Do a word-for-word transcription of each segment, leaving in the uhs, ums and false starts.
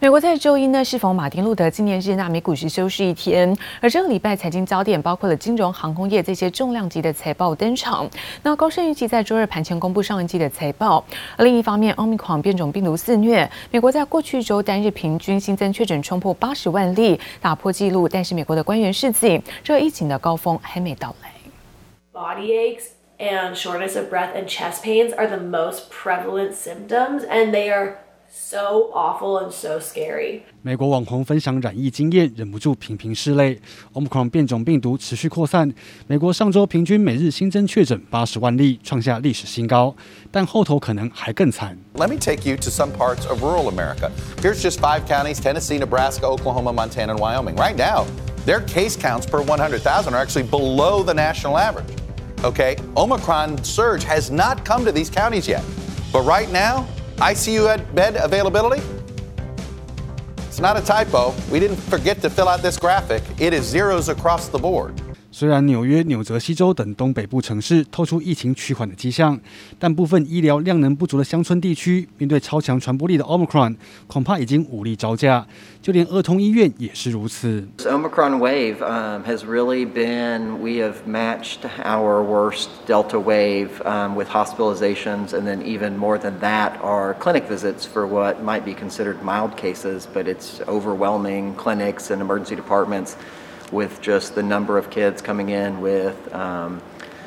美國在周一呢適逢馬丁路德紀念日，那美股市休市一天。而這個禮拜財經焦點包括了金融、航空業這些重量級的財報登場。那高盛預計在周二盤前公布上一季的財報。而另一方面 ，Omicron 變種病毒肆虐，美國在過去一周單日平均新增確診衝破八十萬例，打破紀錄。但是美國的官員示警，這個疫情的高峰還沒到來。 Body aches and shortness of breath and chest pains are the most prevalent symptoms, and they are so awful and so scary. 美國網紅分享染疫經驗，忍不住頻頻拭淚。Omicron 變種病毒持續擴散，美國上周平均每日新增確診八十萬例，創下歷史新高。但後頭可能還更慘。 Let me take you to some parts of rural America. Here's just five counties: Tennessee, Nebraska, Oklahoma, Montana, and Wyoming. Right now, their case counts per one hundred thousand are actually below the national average. Okay, Omicron surge has not come to these counties yet, but right now, I C U bed availability, it's not a typo. We didn't forget to fill out this graphic. It is zeros across the board. 雖然紐約、紐澤西州等東北部城市透出疫情趨緩的跡象，但部分醫療量能不足的鄉村地區，面對超強傳播力的 Omicron， 恐怕已經無力招架。就連兒童醫院也是如此。 This Omicron wave um, has really been, we have matched our worst Delta wave um, with hospitalizations, and then even more than that are clinic visits for what might be considered mild cases, but it's overwhelming clinics and emergency departments.With just the number of kids coming in with um,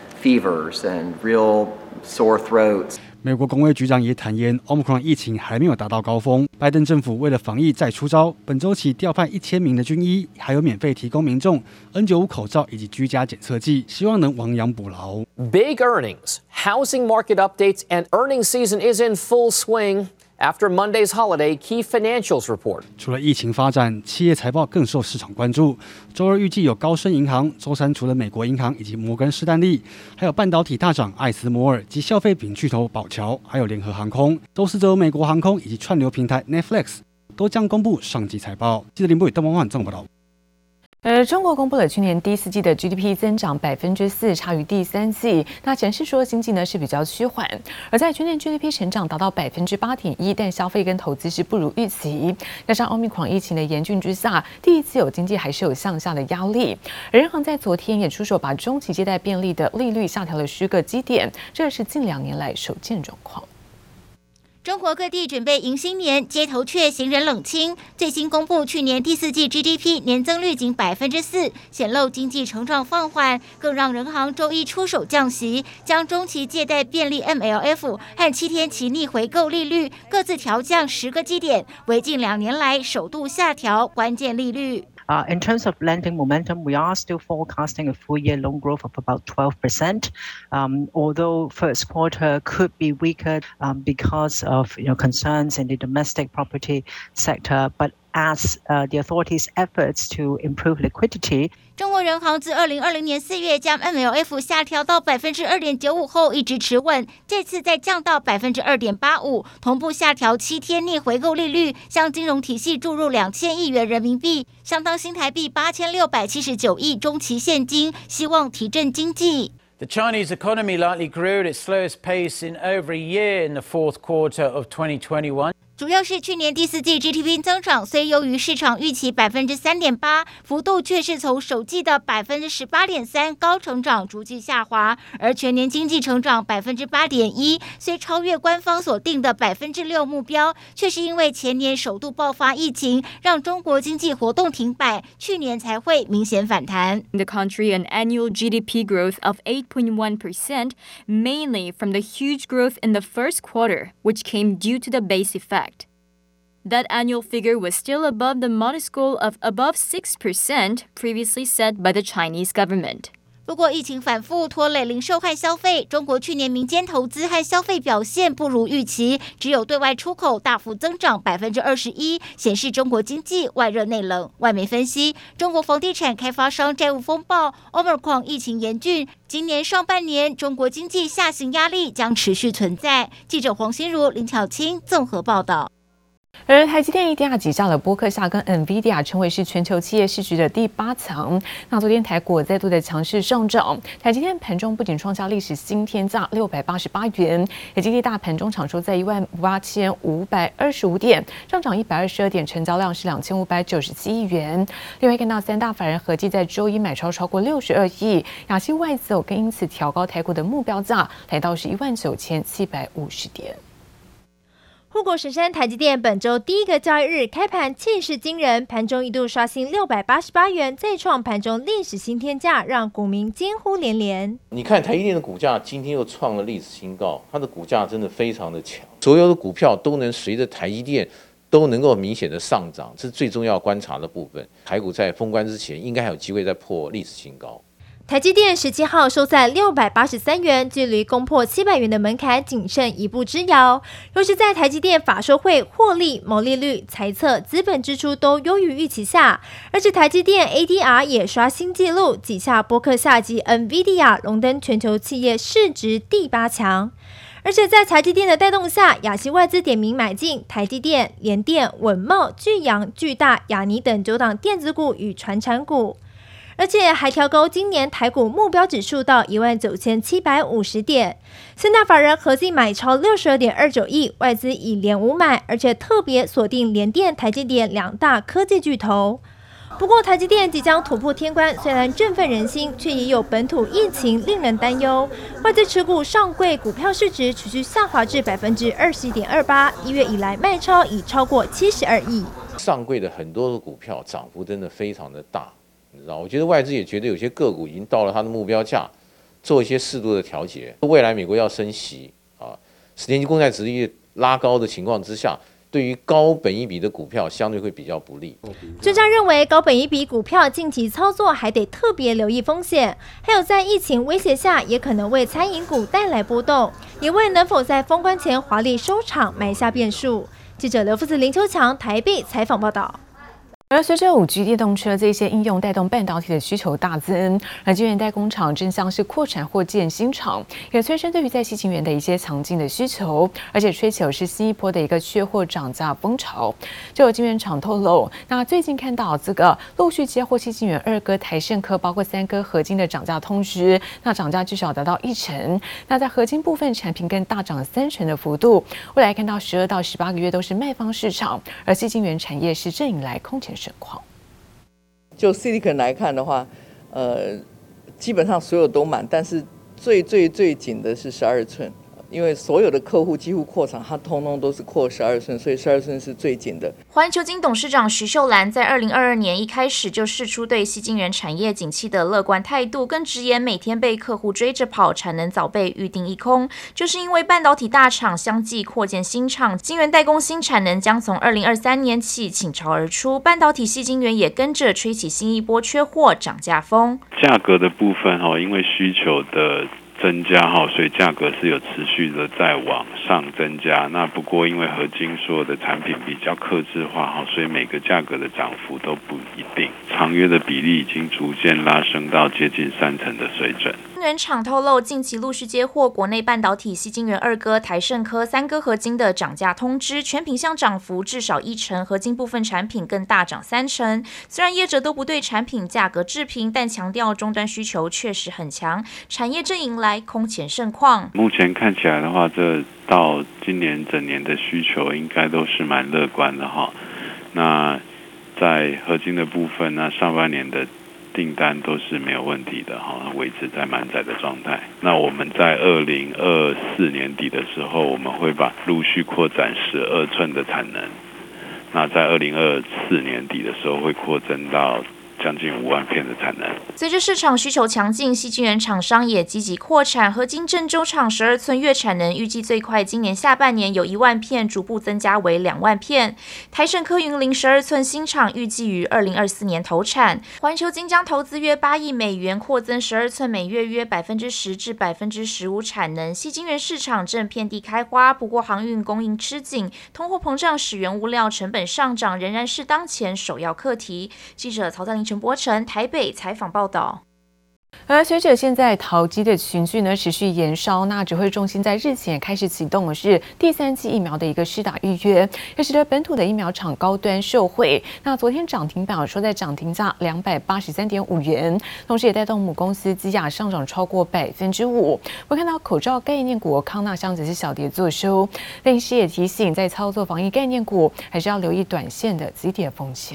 fevers and real sore throats. 美國公衛局長也坦言 ，Omicron 疫情還沒有達到高峰。拜登政府為了防疫再出招，本週起調派一千名的軍醫，還有免費提供民眾 N 九十五 口罩以及居家檢測劑，希望能亡羊補牢。 Big earnings, housing market updates, and earnings season is in full swing.After Monday's holiday, key financials report. 除了疫情發展，企業財報更受市場關注。週二預計有高盛銀行，週三除了美國銀行以及摩根士丹利，還有半導體大廠艾斯摩爾及消費品巨頭寶僑，還有聯合航空。週四則有美國航空以及串流平台 Netflix 都將公布上季財報。記者林博宇、鄧文煥綜合報道。 而中國公布了去年第四季的 G D P 增長百分之四，差於第三季。那顯示說經濟呢是比較趨緩，而在去年 G D P 成長達到百分之八點一，但消費跟投資是不如預期。加上 Omicron 疫情的嚴峻之下，第一次有經濟還是有向下的壓力。而人行在昨天也出手，把中期借貸便利的利率下調了十個基點，這是近兩年來首見狀況。 中國各地準備迎新年，街頭卻行人冷清。最新公布去年第四季 G D P 年增率僅百分之四，顯露經濟成長放緩，更讓人行周一出手降息，將中期借貸便利 M L F 和七天期逆回購利率各自調降十個基點，為近兩年來首度下調關鍵利率。 Uh, in terms of lending momentum, we are still forecasting a full-year loan growth of about twelve percent. Um, although first quarter could be weaker um, because of you know concerns in the domestic property sector, but as uh, the authorities' efforts to improve liquidity. 中國人行自二零二零年四月將 M L F 下調到百分之二點九五後一直持穩，這次再降到百分之二點八五，同步下調七天逆回購利率，向金融體系注入兩千億元人民幣，相當新台幣八千六百七十九億中期現金，希望提振經濟。 The Chinese economy likely grew at its slowest pace in over a year in the fourth quarter of twenty twenty-one. 主要是去年第四季 G D P 增長雖優於市場預期百分之三點八，幅度卻是從首季的百分之十八點三高成長逐季下滑，而全年經濟成長百分之八點一，雖超越官方所定的百分之六目標，卻是因為前年首度爆發疫情，讓中國經濟活動停擺，去年才會明顯反彈。 The country an annual G D P growth of eight point one percent, mainly from the huge growth in the first quarter, which came due to the base effect.That annual figure was still above the modest goal of above six percent previously set by the Chinese government. 不過疫情反覆拖累零售和消費，中國去年民間投資和消費表現不如預期，只有對外出口大幅增長百分之二十一，顯示中國經濟外熱內冷。外媒分析，中國房地產開發商債務風暴 ，Omicron 疫情嚴峻，今年上半年中國經濟下行壓力將持續存在。記者黃心如、林巧清綜合報道。 而台積電 A D R 擠下了波克夏跟 NVIDIA， 成為是全球企業市值的第八強。那昨天台股再度的強勢上漲，台積電盤中不僅創下歷史新天價六百八十八元，也激勵大盤中場收在一萬八千五百二十五點，上漲一百二十二點，成交量是兩千五百九十七億元。另外看到三大法人合計在周一買超超過六十二億，亞系外資哦更因此調高台股的目標價，來到是一萬九千七百五十點。 護國神山台積電本周第一個交易日開盤氣勢驚人，盤中一度刷新六百八十八元，再創盤中歷史新天價，讓股民驚呼連連。 你看台積電的股價今天又創了歷史新高，它的股價真的非常的強，所有的股票都能隨着台積電都能夠明顯的上漲，這是最重要觀察的部分。台股在封關之前應該還有機會再破歷史新高。 台積電十七號收在六百八十三元，距離攻破七百元的門檻僅剩一步之遙。若是在台積電法說會獲利、毛利率、財測、資本支出都優於預期下，而且台積電 A D R 也刷新紀錄，擠下波克夏及 NVIDIA， 榮登全球企業市值第八強。而且在台積電的帶動下，亞系外資點名買進台積電、聯電、穩懋、聚陽、巨大、亞泥等九檔電子股與傳產股。而且還調高今年台股目標指數到一萬九千七百五十點，三大法人合計買超六十二點二九億，外資以連五買，而且特別鎖定聯電、台積電兩大科技巨頭。不過台積電即將突破天關，雖然振奮人心，卻也有本土疫情令人擔憂。外資持股上櫃股票市值持續下滑至百分之二十一點二八，一月以來賣超已超過七十二億。 上櫃的很多的股票漲幅真的非常的大。你知道，我覺得外資也覺得有些個股已經到了它的目標價，做一些適度的調節。未來美國要升息啊，十年期公債殖利率拉高的情況之下，對於高本益比的股票相對會比較不利。 專家認為，高本益比股票近期操作還得特別留意風險，還有在疫情威脅下，也可能為餐飲股帶來波動，也為能否在封關前華麗收場埋下變數。記者劉富子、林秋強台北採訪報道。 而隨着五 G 電動車這些應用帶動半導體的需求大增，而晶圓代工廠正像是擴產或建新廠，也催生對於在矽晶圓的一些強勁的需求，而且吹起是新一波的一個缺貨漲價風潮。就有晶圓廠透露，那最近看到這個陸續接獲矽晶圓二哥台勝科包括三哥合晶的漲價通知，那漲價至少達到一成。那在合晶部分產品更大漲三成的幅度。未來看到十二到十八個月都是賣方市場，而矽晶圓產業是正迎來空前盛況。 就 Silicon 來看的話，呃，基本上所有都滿，但是最最最緊的是十二寸。因為所有的客戶幾乎擴廠，它通通都是擴十二寸，所以十二寸是最緊的。 環球晶董事長徐秀蘭在二零二二年一開始就釋出對矽晶圓產業景氣的樂觀態度，更直言每天被客戶追着跑，產能早被預定一空，就是因為半導體大廠相繼擴建新廠，晶圓代工新產能將從二零二三年起傾巢而出，半導體矽晶圓也跟着吹起新一波缺貨漲價風。 價格的部分哈，因為需求的增加哈，所以價格是有持續的在往上增加。那不過因為合晶所有的產品比較客製化哈，所以每個價格的漲幅都不一定。長約的比例已經逐漸拉升到接近三成的水準。 晶圓廠透露，近期陸續接獲國內半導體矽晶圓二哥台勝科、三哥合晶的漲價通知，全品項漲幅至少一成，合晶部分產品更大漲三成。雖然業者都不對產品價格置評，但強調終端需求確實很強，產業正迎來空前盛況。 目前看起來的話，這到今年整年的需求應該都是蠻樂觀的哈。那在合晶的部分，那上半年的訂單都是沒有問題的哈，維持在滿載的狀態。那我們在二零二四年底的時候，我們會把陸續擴展十二寸的產能。那在二零二四年底的時候，會擴增到將近五萬片的產能。 隨着市場需求強勁，矽晶圓廠商也積極擴產。合晶鄭州廠十二寸月產能預計最快今年下半年有一萬片，逐步增加為兩萬片。台勝科雲林十二寸新廠預計於二零二四年投產。環球晶將投資約八億美元擴增十二寸每月約百分之十至百分之十五產能。矽晶圓市場正遍地開花，不過航運供應吃緊，通貨膨脹使原物料成本上漲仍然是當前首要課題。記者曹在林、陳柏成台北採訪報道。 而隨着現在桃機的群聚呢持續延燒，那指揮中心在日前開始啟動的是第三劑疫苗的一個施打預約，也使得本土的疫苗廠高端受惠。那昨天漲停板收在漲停價兩百八十三點五元，同時也帶動母公司基亞上漲超過百分之五。我看到口罩概念股康那香則是小跌作收，分析師也提醒，在操作防疫概念股還是要留意短線的急跌風險。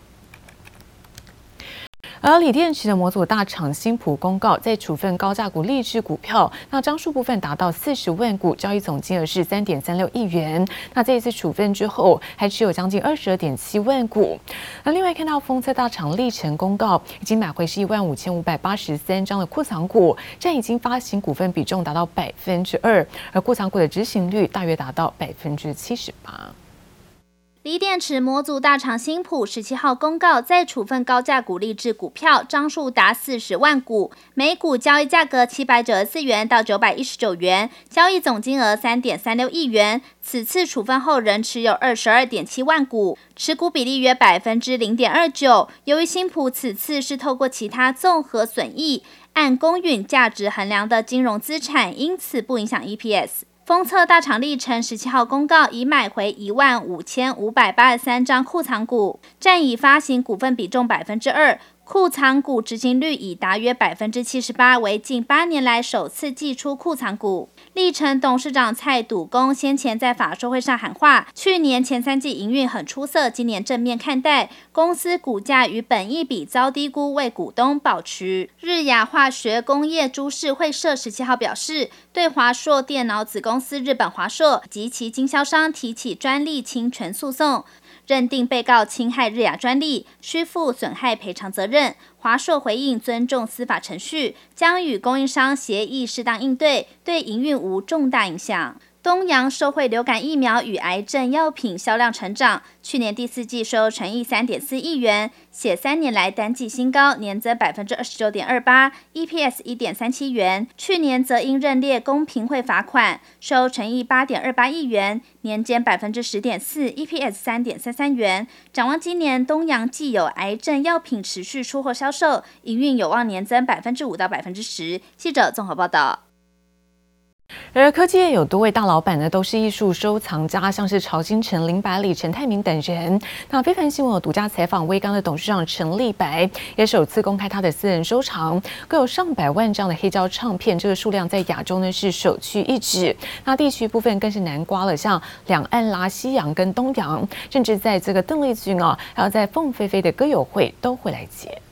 而鋰電池的模組大廠新普公告，在處分高價股力智股票，那張數部分達到四十萬股，交易總金額是三點三六億元。那這一次處分之後，還持有將近二十二點七萬股。那另外看到封測大廠力成公告，已經買回是一萬五千五百八十三張的庫藏股，占已經發行股份比重達到百分之二，而庫藏股的執行率大約達到百分之七十八。 鋰電池模組大廠新普十七號公告，在處分高價股力智股票，張數達四十萬股，每股交易價格七百九十四元到九百一十九元，交易總金額三點三六億元。此次處分後仍持有二十二點七萬股，持股比例約百分之零點二九。由於新普此次是透過其他綜合損益按公允價值衡量的金融資產，因此不影響 E P S。封測大廠力成十七號公告，已買回一萬五千五百八十三張庫藏股，占已發行股份比重百分之二，庫藏股執行率已達約百分之七十八，為近八年來首次祭出庫藏股。力成董事長蔡篤恭先前在法說會上喊話，去年前三季營運很出色，今年正面看待，公司股價與本益比遭低估，為股東保持。日亞化學工業株式會社十七號表示，對華碩電腦子公司日本華碩及其經銷商提起專利侵權訴訟，認定被告侵害日亞專利，需負損害賠償責任。華碩回應尊重司法程序，將與供應商協議適當應對，對營運無重大影響。東陽受惠流感疫苗與癌症藥品銷量成長，去年第四季收純益三點四億元，寫三年來單季新高，年增百分之二十九點二八 ，E P S 一點三七元。去年則因認列公平會罰款，收純益八點二八億元，年減百分之十點四 ，E P S 三點三三元。展望今年，東陽既有癌症藥品持續出貨銷售，營運有望年增百分之五到百分之十。記者綜合報道。 而科技業有多位大老闆呢，都是藝術收藏家，像是曹興誠、林百里、陳泰明等人。那非凡新聞有獨家採訪威剛的董事長陳立白，也首次公開他的私人收藏，各有上百萬張的黑膠唱片，這個數量在亞洲呢是首屈一指。那地區部分更是南瓜了，像兩岸啦、西洋跟東洋，甚至在這個鄧麗君啊，還有在鳳飛飛的歌友會都會來接。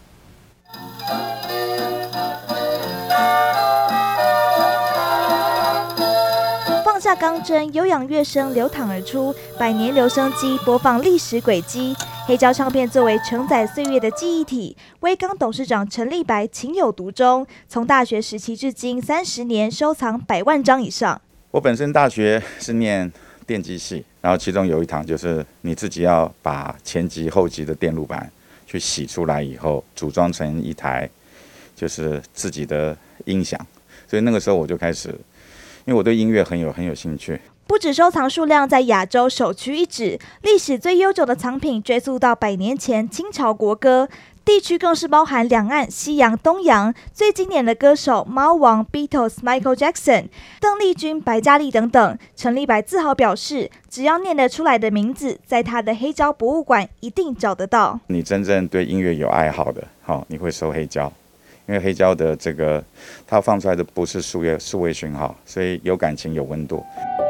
放下鋼箏，悠揚樂聲流淌而出，百年留聲機播放歷史軌跡。黑膠唱片作為承載歲月的記憶體，威剛董事長陳立白情有獨鍾，從大學時期至今三十年，收藏百萬張以上。 我本身大學是念電機系，然後其中有一堂就是你自己要把前級後級的電路板去洗出來以後，組裝成一台就是自己的音響，所以那個時候我就開始。因為我對音樂很有很有興趣， 不止收藏數量在亞洲首屈一指，歷史最悠久的藏品追溯到百年前清朝國歌，地區更是包含兩岸、西洋、東洋，最經典的歌手貓王、Beatles、Michael Jackson、鄧麗君、白嘉莉等等。陳立白自豪表示，只要念得出來的名字，在他的黑膠博物館一定找得到。 你真正對音樂有愛好的，好，你會收黑膠。因為黑膠的這個，它放出來的不是數位數位訊號，所以有感情有溫度。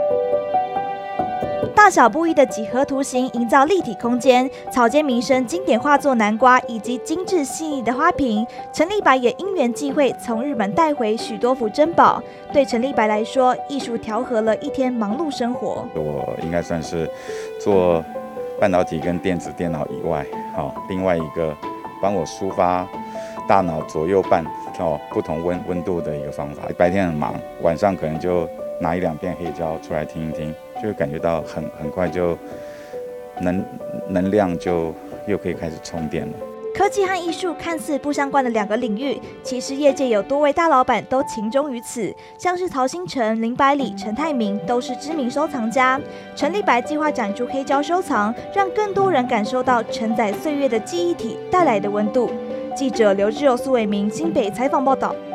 大小不一的幾何圖形營造立體空間，草間彌生經典畫作《南瓜》以及精緻細膩的花瓶，陳立白也因緣際會從日本帶回許多幅珍寶。對陳立白來說，藝術調和了一天忙碌生活。 我應該算是做半導體跟電子電腦以外，好，另外一個幫我抒發大腦左右半哦不同溫溫度的一個方法。白天很忙，晚上可能就拿一兩片黑膠出來聽一聽，就會感覺到很很快就能能量就又可以開始充電了。 科技和藝術看似不相關的兩個領域，其實業界有多位大老闆都情鍾於此，像是曹興誠、林百里、陳泰明都是知名收藏家。陳立白計劃展出黑膠收藏，讓更多人感受到承載歲月的記憶體帶來的溫度。 記者劉志友、蘇偉明，新北採訪報道。